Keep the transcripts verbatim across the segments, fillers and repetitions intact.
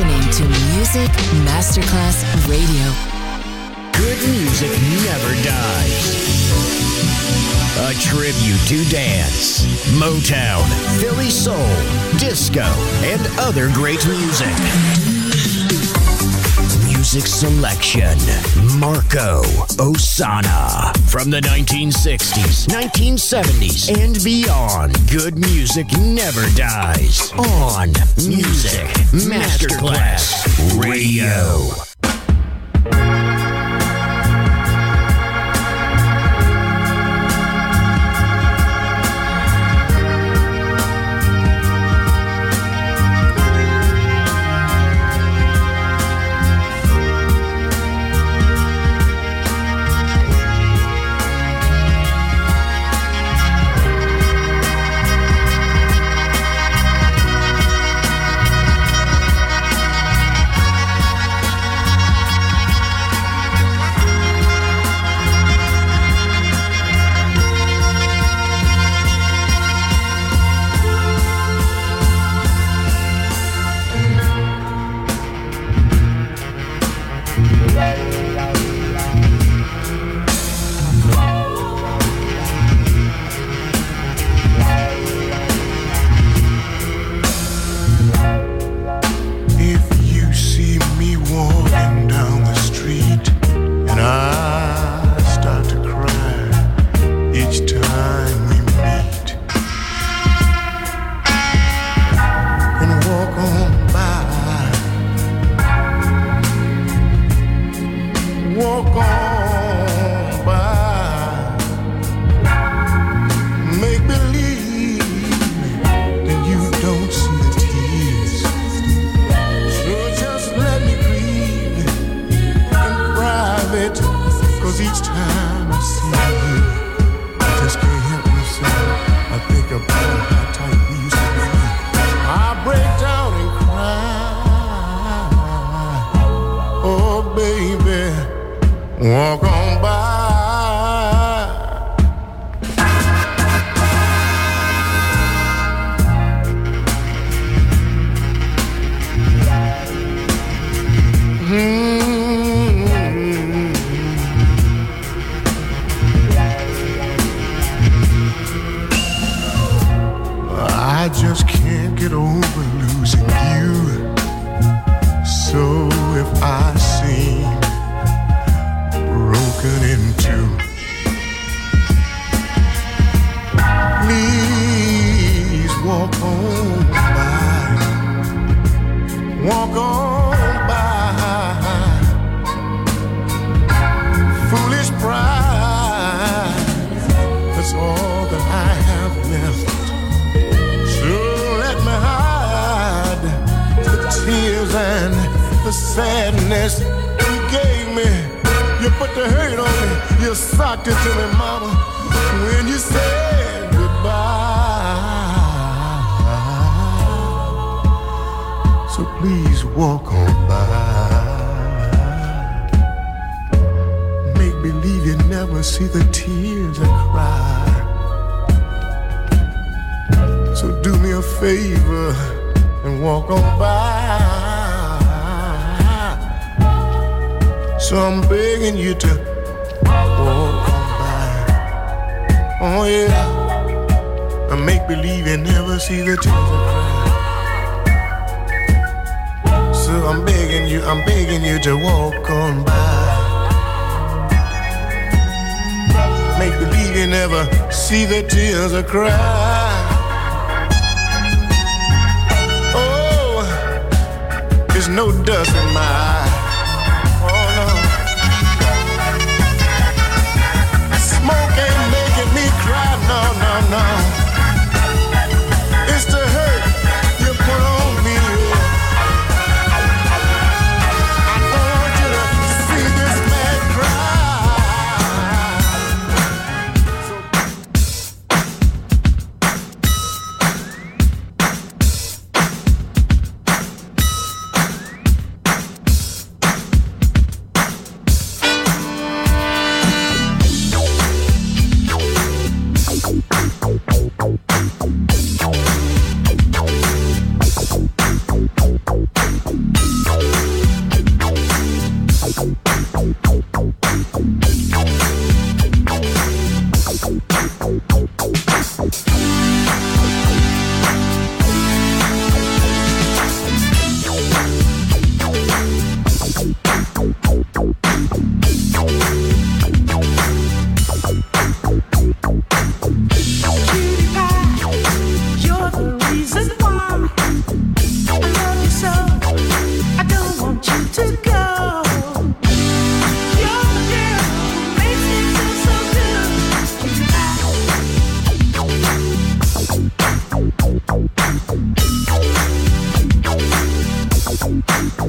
listening to Music Masterclass Radio. Good music never dies. A tribute to dance, Motown, Philly soul, disco, and other great music. Music selection, Marco Ossanna. From the nineteen sixties, nineteen seventies, and beyond, good music never dies. On Music Masterclass Radio.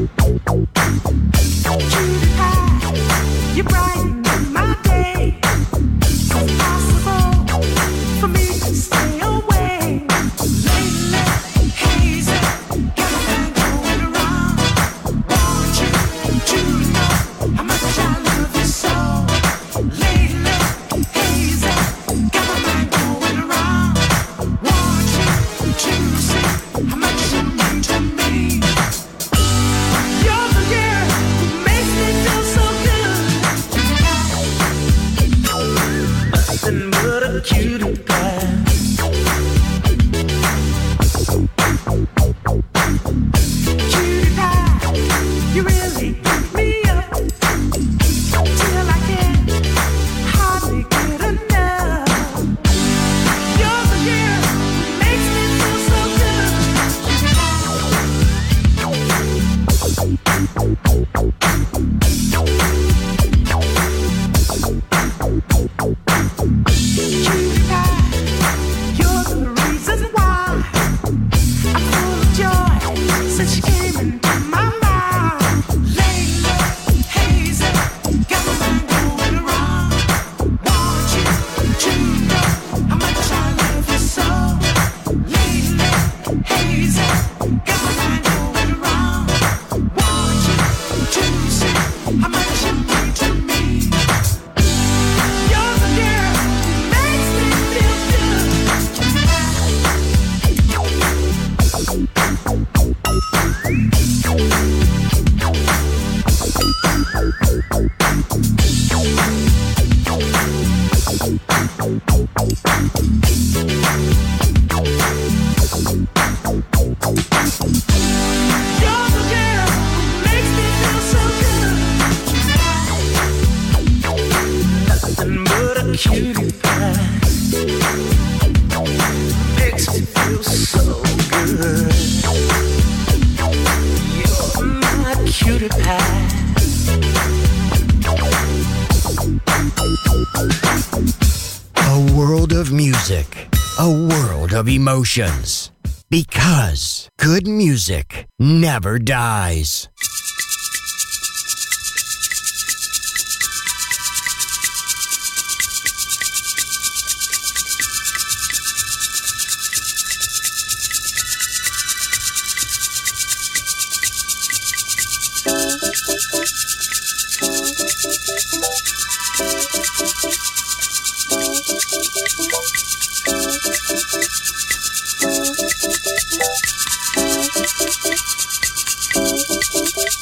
Of emotions, because good music never dies. Thank you.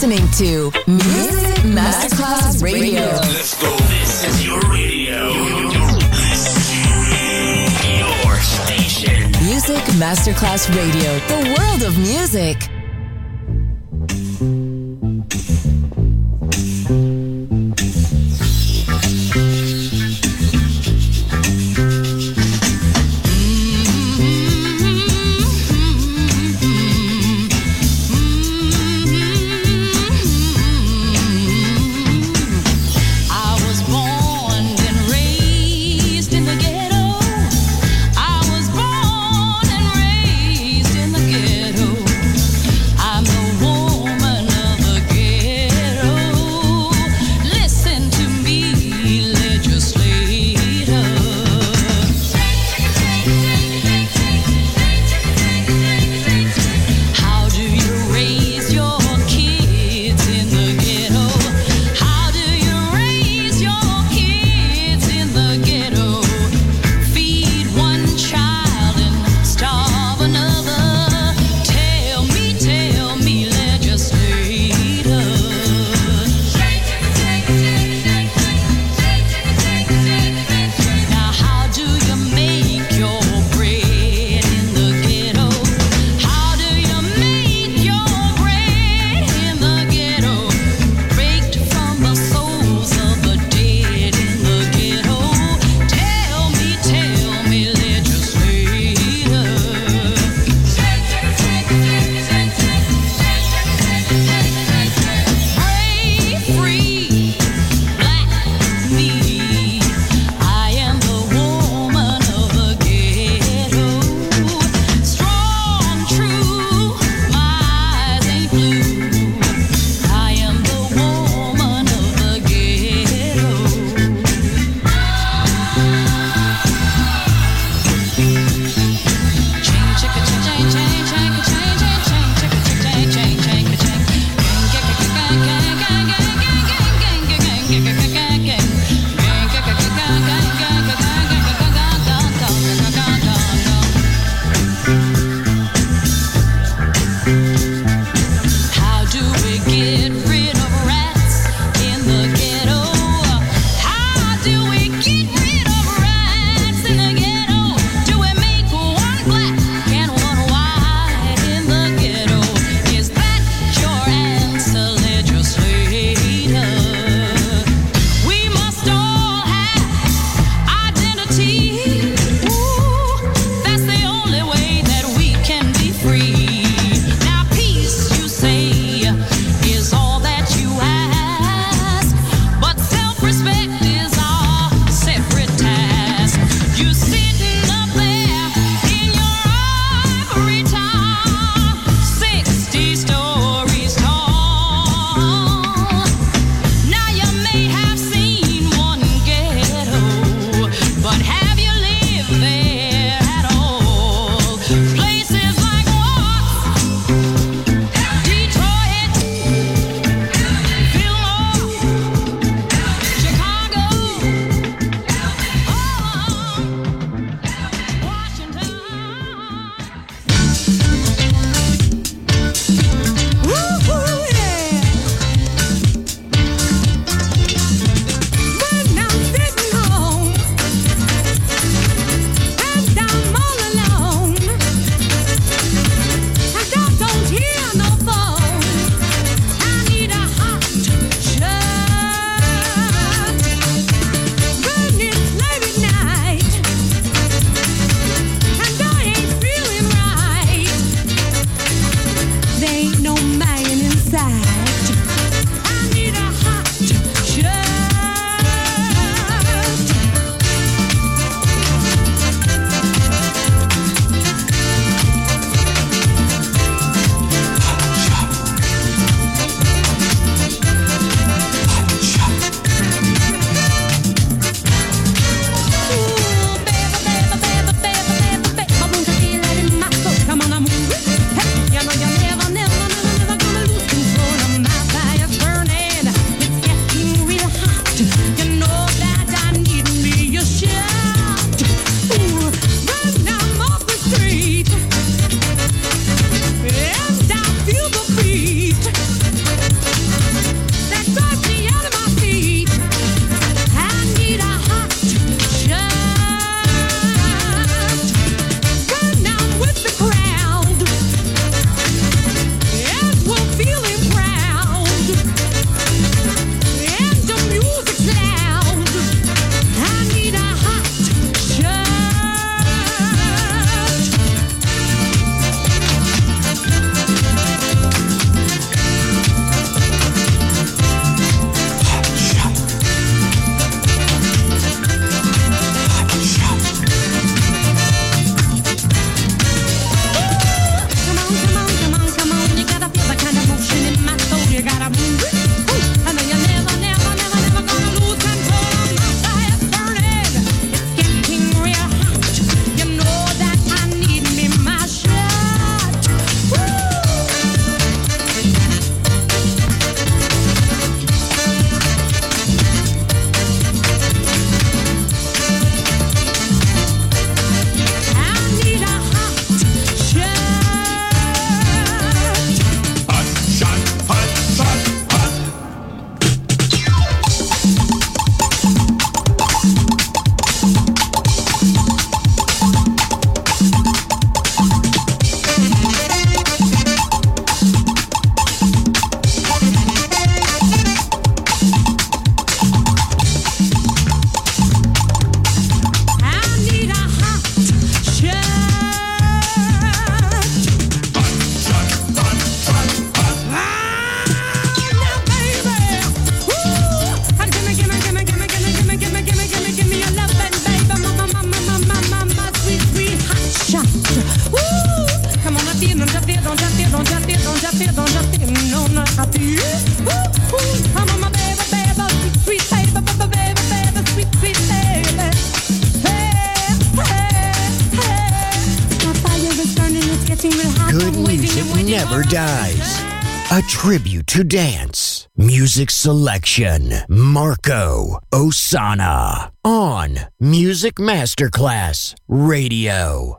listening to Music Masterclass Radio. Let's go. This is your radio. Your station. Music Masterclass Radio. The world of music. Ghetto. never dies. A tribute to dance. Music selection. Marco Ossanna. On Music Masterclass Radio.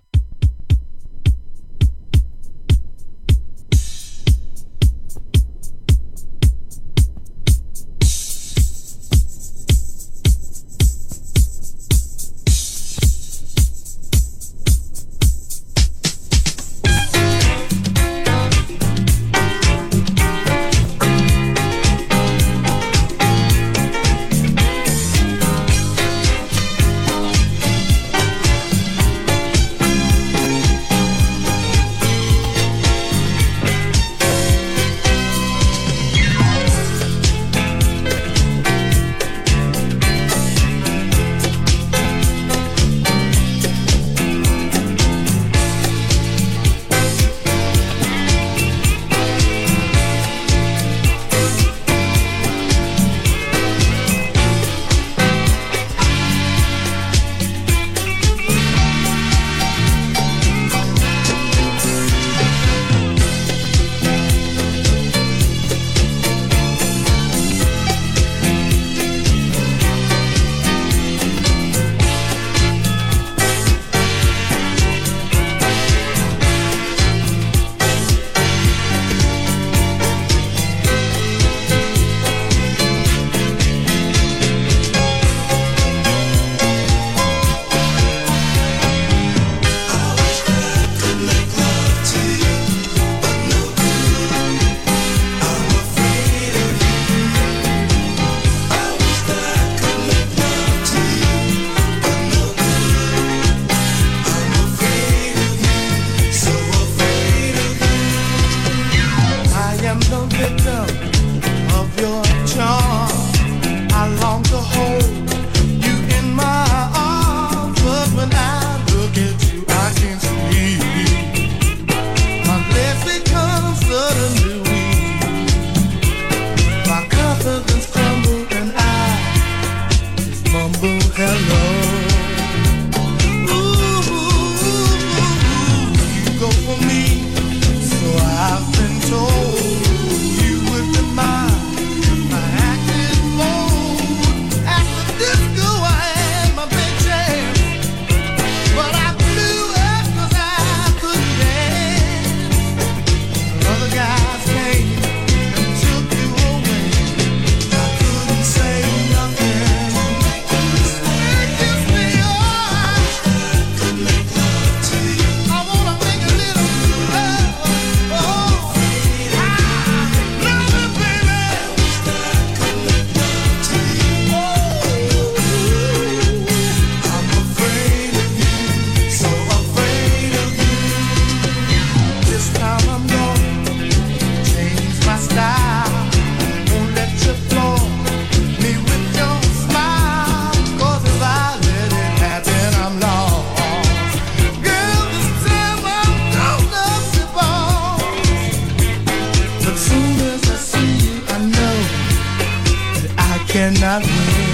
cannot win.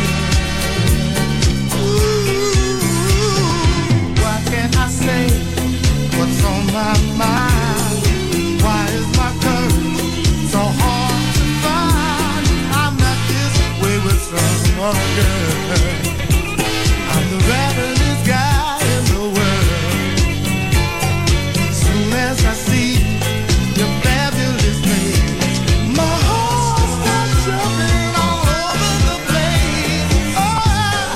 Ooh, what can I say? What's on my mind? Why is my courage so hard to find? I'm not this way with some other girl. I'm the ravenous guy in the world. As soon as I see your fabulous face, my heart starts jumping all over the place. Oh,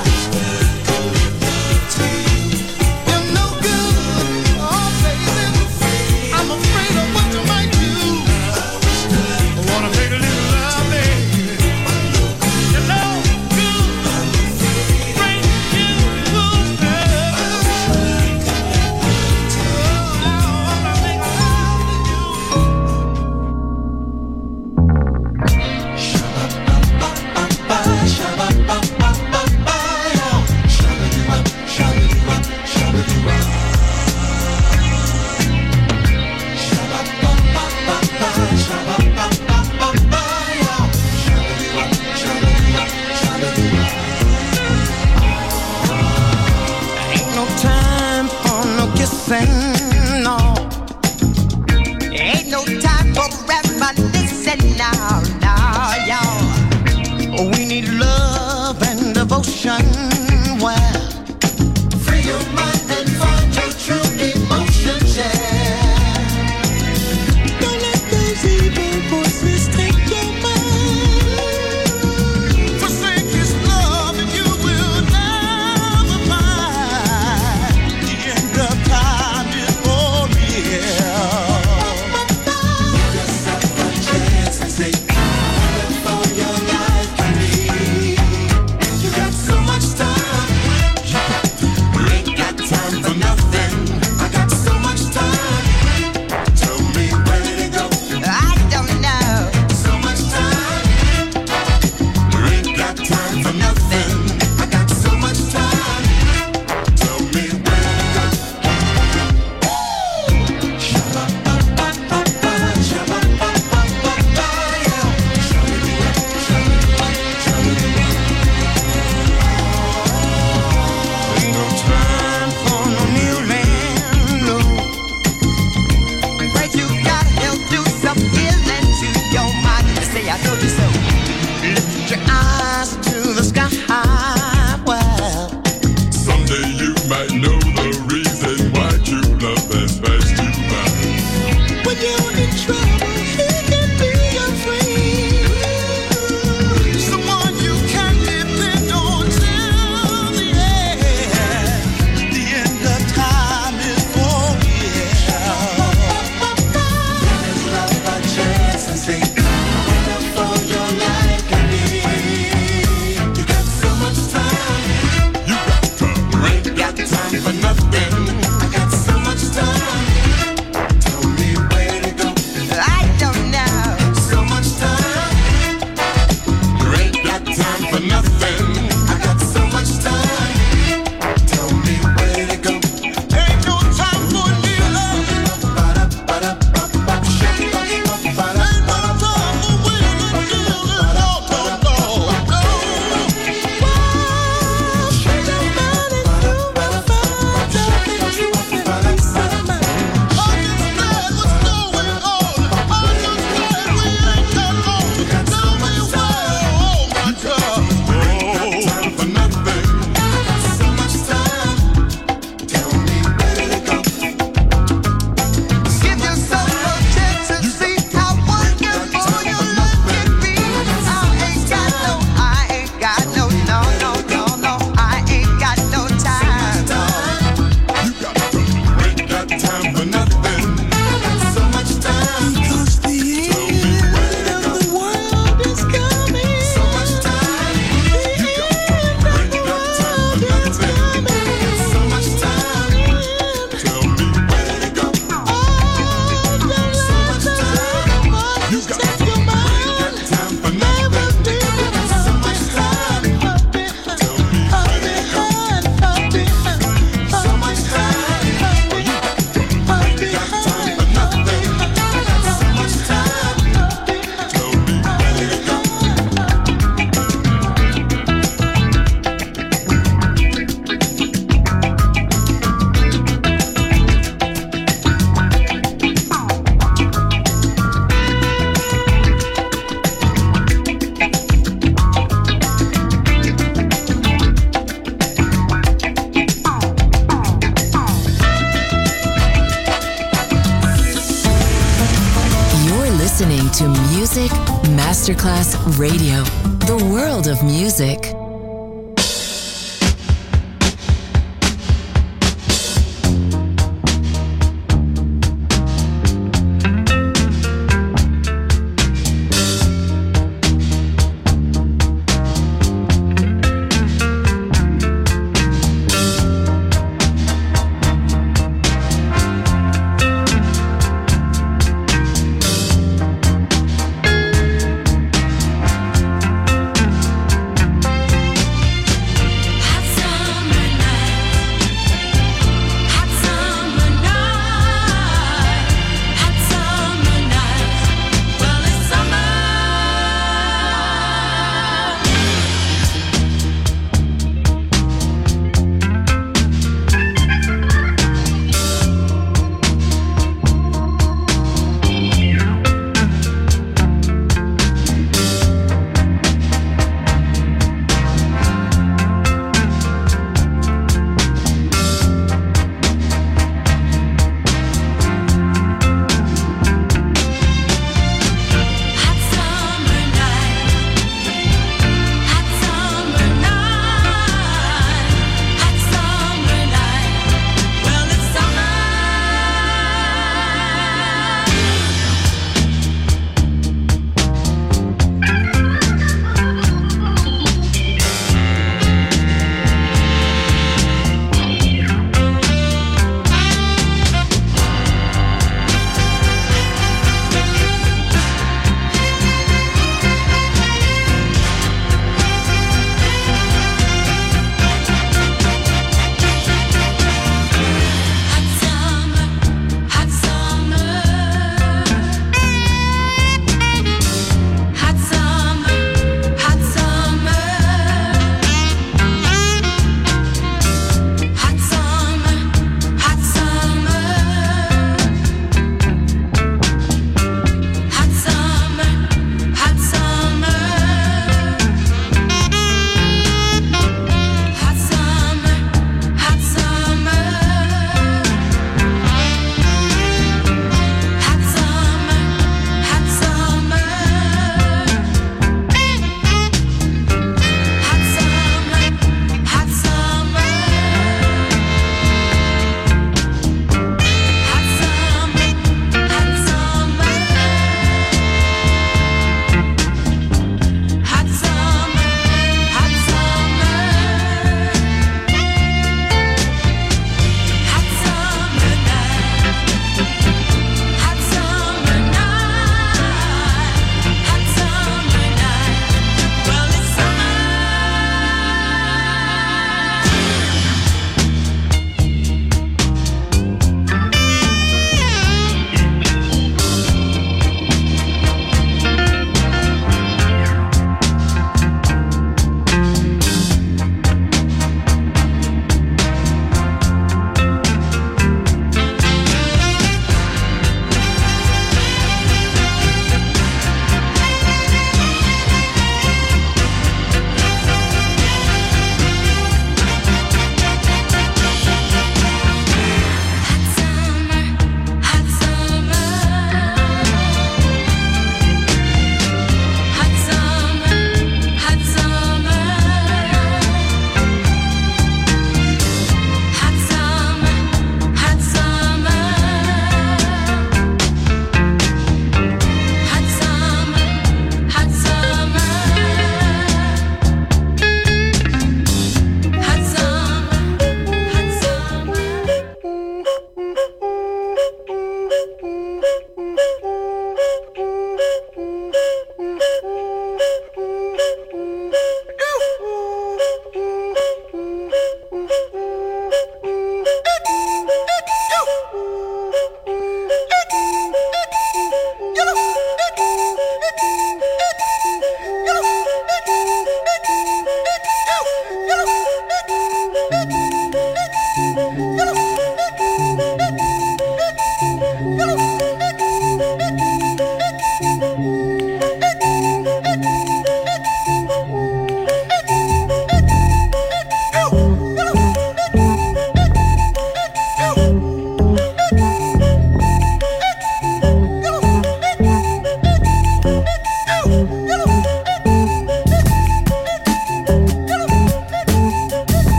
you're no good, oh baby. I'm afraid of what you might do. I wanna make a little love, baby. You're no good, bring you good love. Oh, I wanna make love to you. Ain't no time for no kissing, no. Ain't no We need love and devotion. Well, free your mind and find your true emotions, yeah. Don't let those evil voices take your mind. Forsake this love and you will never find the end of time is for real. Give yourself a chance and say, for your life and me. You got so much time. You ain't got time for nothing. I got so much time. Tell me where did it go? I don't know. So much time. You ain't got time for nothing. I got so much time. Tell me where did it go? Shabba-ba-ba-ba-ba, shabba-ba-ba-ba-ba, yeah. Ain't no time for no kneeling, no. But you gotta help do some healing to your mind. Just say I told you so. Lift your eyes to the sky. Well, Someday you might know the reason why true love has passed you by. when you're in trouble, he can be your friend. Someone you can depend on till the end. The end of time is for real. Give love a chance and say, for your life can be. You got so much time. You got time. You ain't got time for nothing. I got so much time. Tell me where to go. I don't know. So much time. You ain't got time for nothing. I got so much time. Tell me where to go. Ain't no time for kneeling. Ain't no time for waiting. Give yourself a chance and see how wonderful your love can be. I ain't got no, I ain't got no, no, no, no, no. I ain't got no time. You got time. You ain't got time for nothing. So much time. Because the end of the world is coming. So much time. You got time. You ain't got time for nothing. So much time. Tell me where to go. So much time. You got Take time. your You mind. ain't got time for Never nothing. be so much time. Tell me where to go. So much time. You got time for nothing. So much time. Tell me where to go. You're listening to Music Masterclass Radio, the world of music. Tell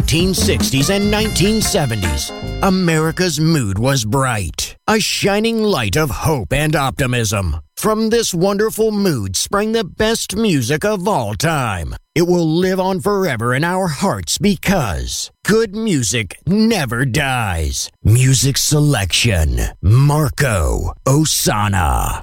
nineteen sixties and nineteen seventies, America's mood was bright, a shining light of hope and optimism. From this wonderful mood sprang the best music of all time. It will live on forever in our hearts because good music never dies. Music selection, Marco Ossanna.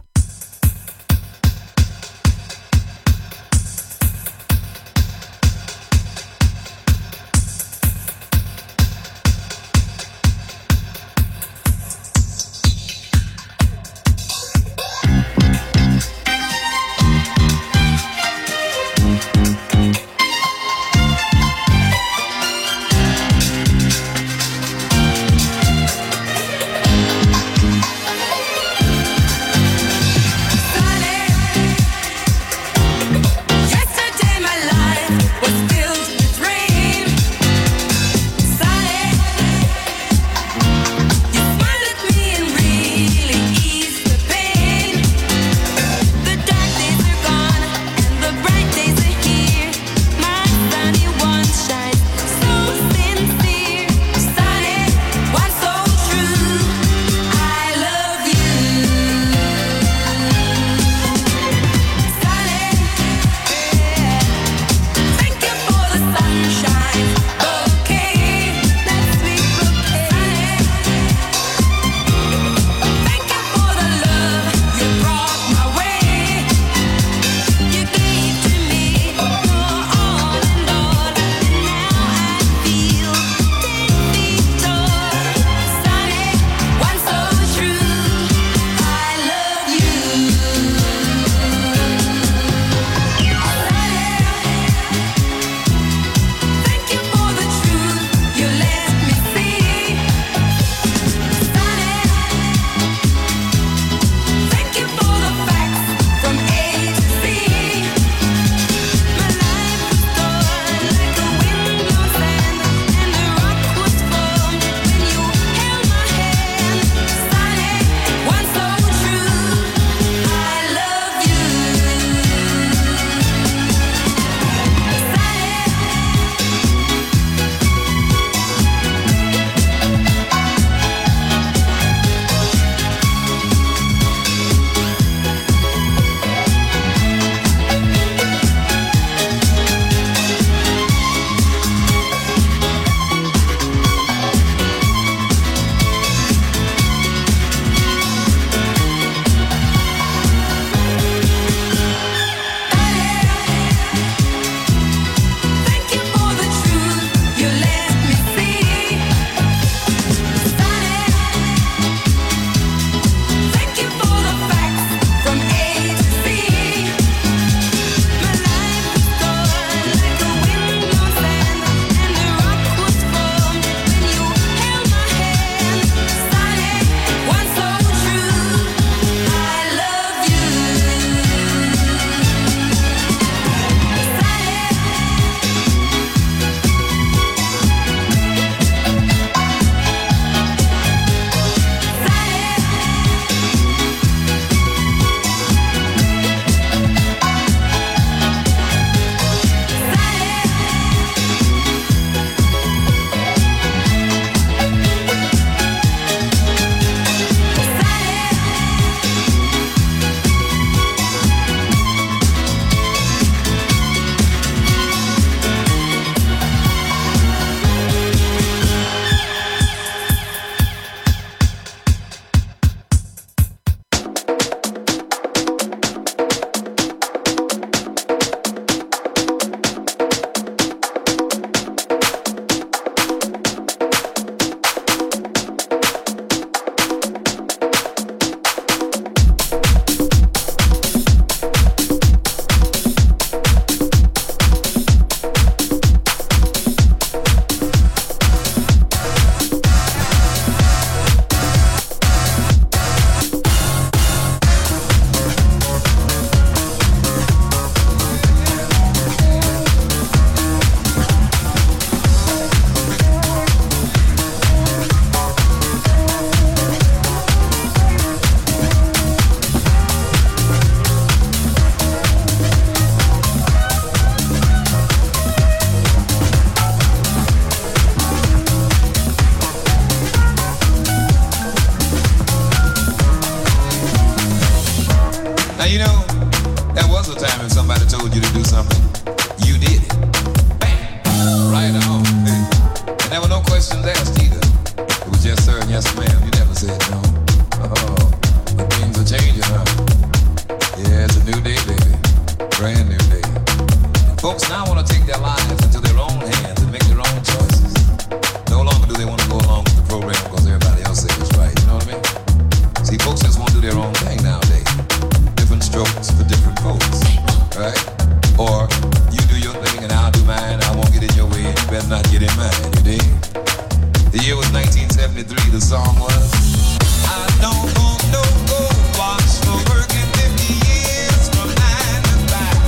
questions asked either. It was yes sir and yes ma'am. You never said no. Oh, but things are changing, huh? Yeah, it's a new day, baby. Brand new day. And folks now want to take their lives into their own hands and make their own choices. No longer do they want to go along with the program because everybody else says it's right. You know what I mean? See, folks just want to do their own thing nowadays. Different strokes for different folks, right? Or you do your thing and I'll do mine. I won't get in your way and you better not get in mine. You dig? The year was nineteen seventy-three. The song was I don't want no gold watch for working fifty years from nine to five.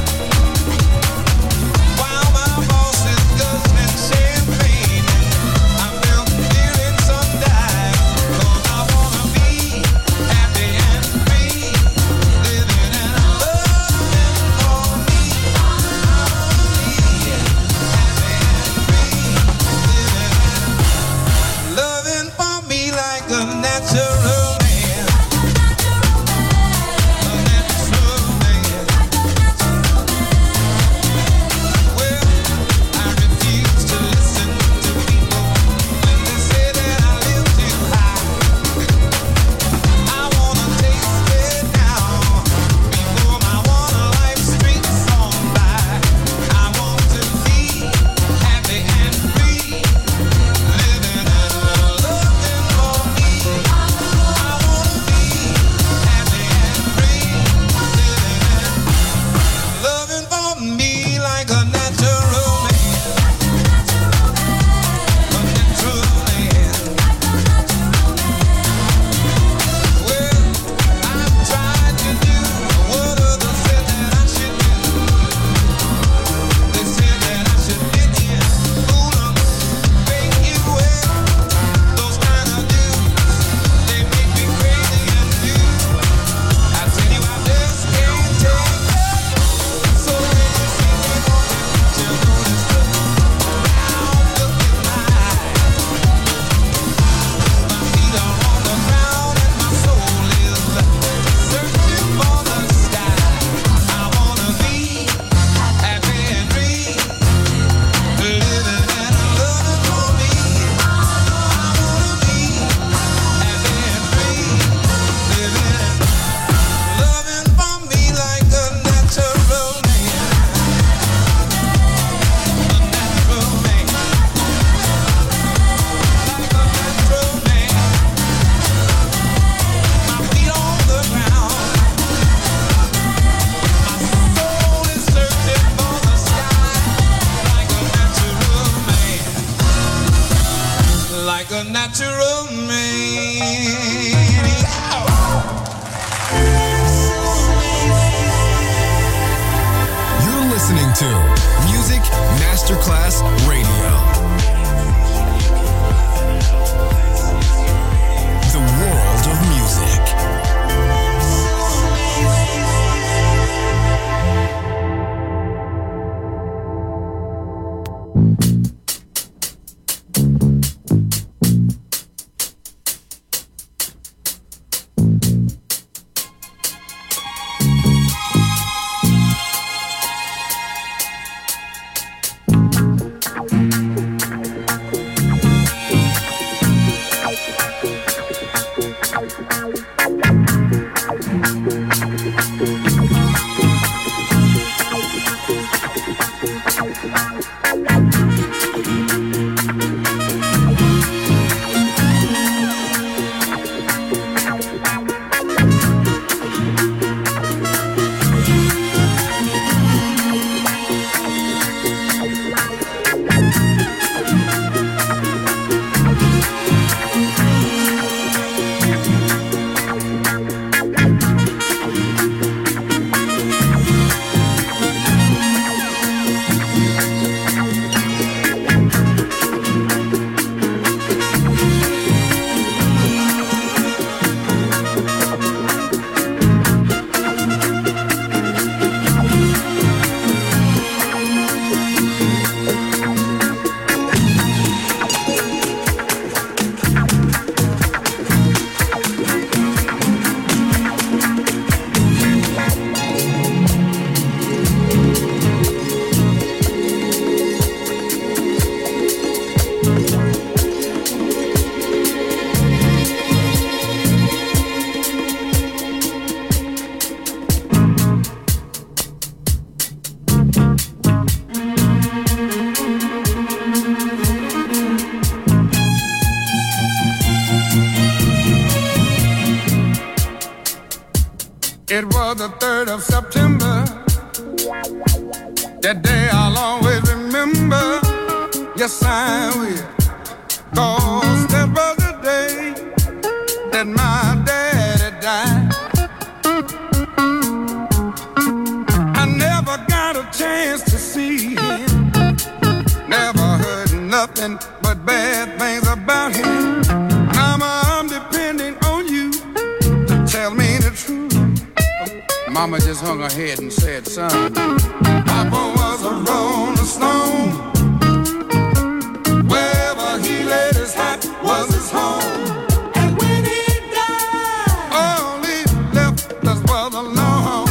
While my boss is guzzling champagne, I'm still feeling some dive. 'Cause I wanna be happy and free, living and loving for me. I wanna be happy and free, living and loving for me like a natural man. A natural man. Well, I refuse to listen to people when they say that I live too high. I wanna taste it now before my one life streaks on by. I want to be happy and free, living and loving for me. I wanna be happy and free, living and loving for me like a natural man. A natural man. Well, I've tried to do what others said that I should do. They said that I should fit in, fool 'em, make it well. Those kind of dudes, they make me crazy and blue. I tell you, I just can't take it. So when you see me walking, you notice the round look in my eye. My feet are on the ground and my soul is searching for the sky. I wanna be happy and free, living and loving for me. I wanna be happy and free, living and loving for me like a natural man. A natural man. Like a natural man. My feet on the ground. My soul is searching for the sky. Like a natural man. Like a natural man. You're listening to Music Masterclass Radio. The world of music. It was the third of September. That day I'll always remember. Yes, I will. 'Cause that was the day that my daddy died. I never got a chance to see him. Never heard nothing but bad things about him. Mama, I'm depending on you to tell me the truth. Mama just hung her head and said, son, Papa was a rolling stone. Wherever he laid his hat was his home. And when he died, all he left us was alone.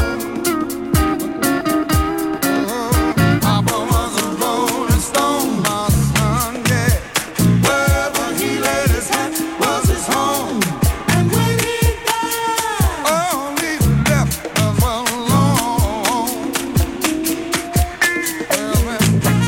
Oh, Papa was a rolling stone, my son, yeah. Wherever he laid his hat was his home. And when he died, all he left us was alone. Well, man.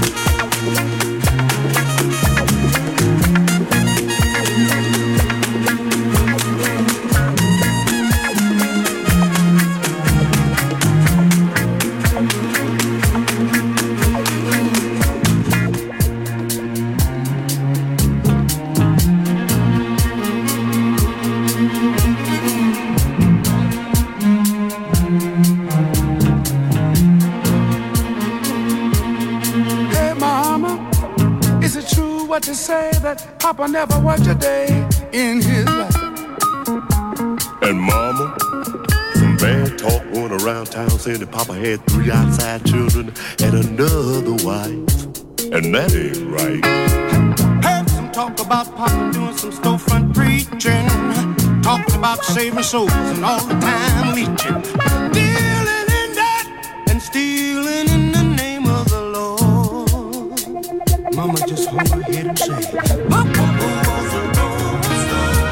Hey, Mama, is it true what you say that Papa never worked a day in his life? And Mama, some bad talk going around town saying that Papa had three outside children and another wife. And that ain't right. Heard some talk about Papa doing some storefront preaching, talking about saving souls and all the time leeching, dealing in that and stealing in the name of the Lord. Mama just hung her head and said, Papa was a rolling stone.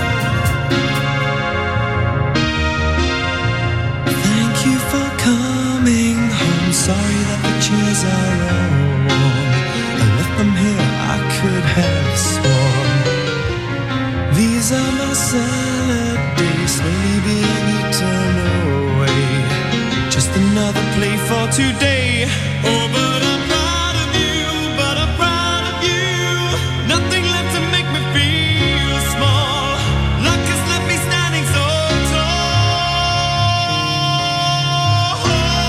Thank you for coming home. Sorry that the chairs are all warm. I left them here, I could have sworn. These are my salad days, slowly being eaten away. Just another play for today. Oh, but I'm proud of you, but I'm proud of you. Nothing left to make me feel small. Luck has left me standing so tall.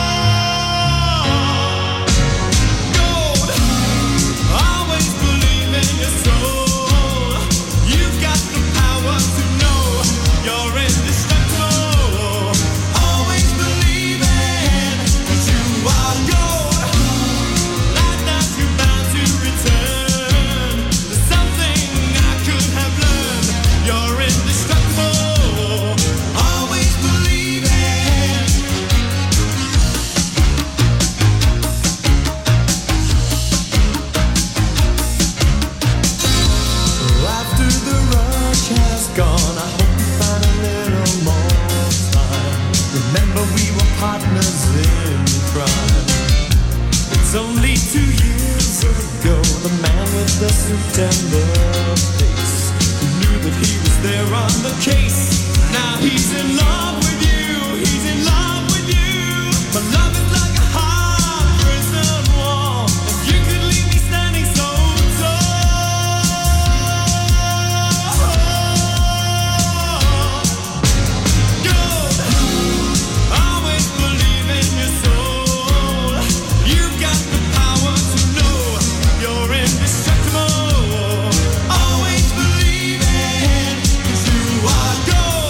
Gold, always believe in your soul. You've got the power to know you're indestructible. Always believe in, 'cause you are gold. Life that you're bound to return. There's something I could have learned. You're indestructible. Always believe in. After the rush has gone, I hope you find a little more time. Remember we were partners in crime. It's only two years ago, the man with the suit and the face, who knew that he was there on the case. Now he's in love with you, he's in love with you. But love is like a hard prison wall. If you could leave me standing so tall. Gold, always believe in your soul. You've got the power to know you're indestructible. Always believe in, 'cause you are gold.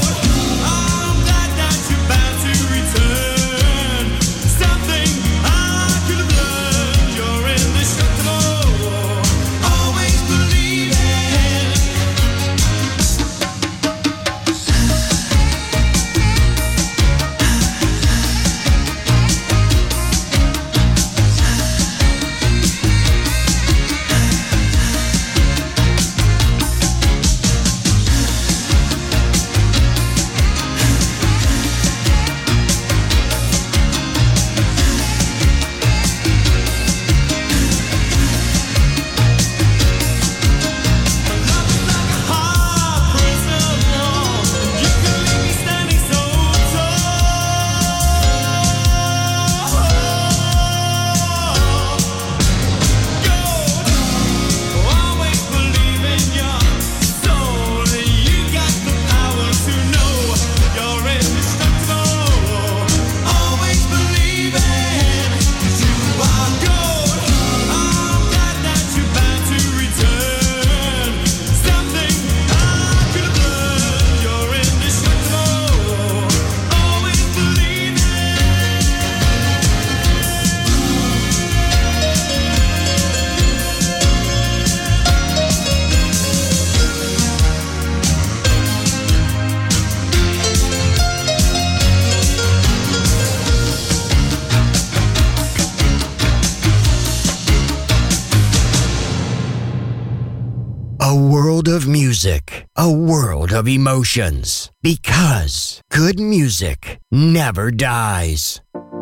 world of music, a world of emotions, because good music never dies.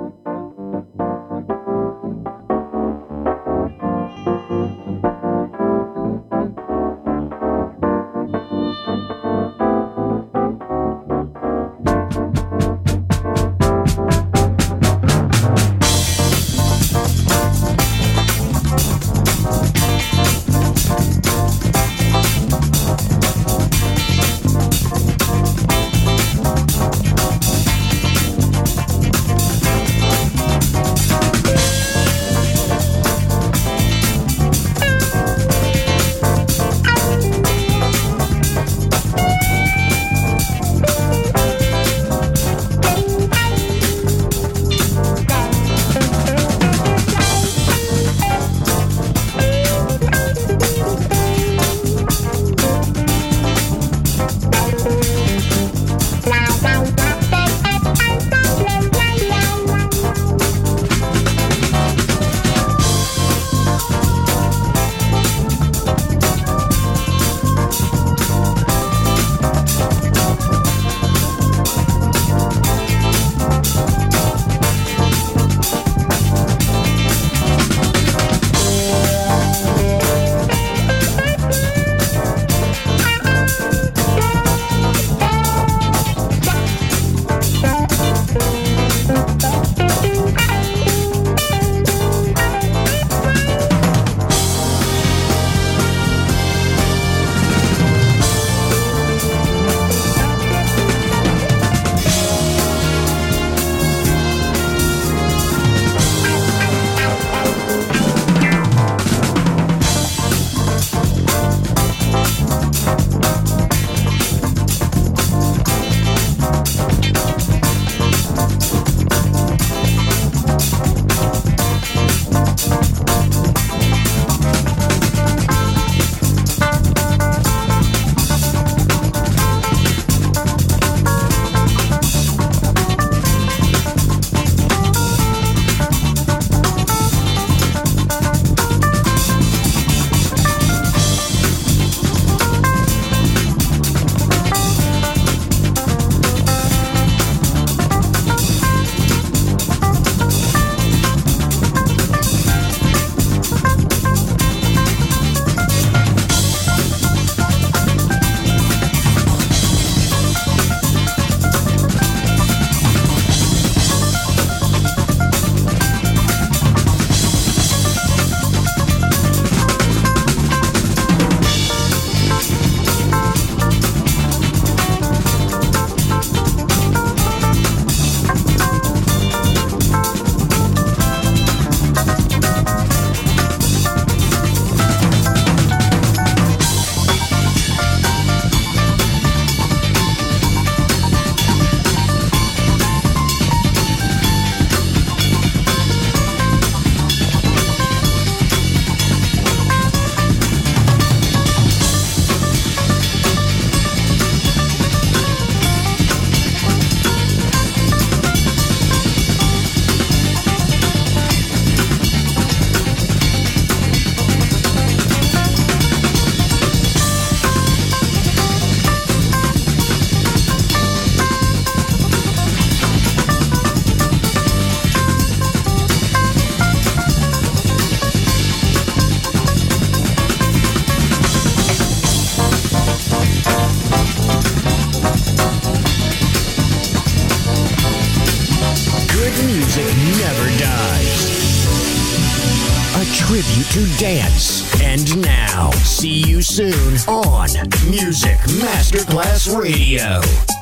tribute to dance. And now, see you soon on Music Masterclass Radio.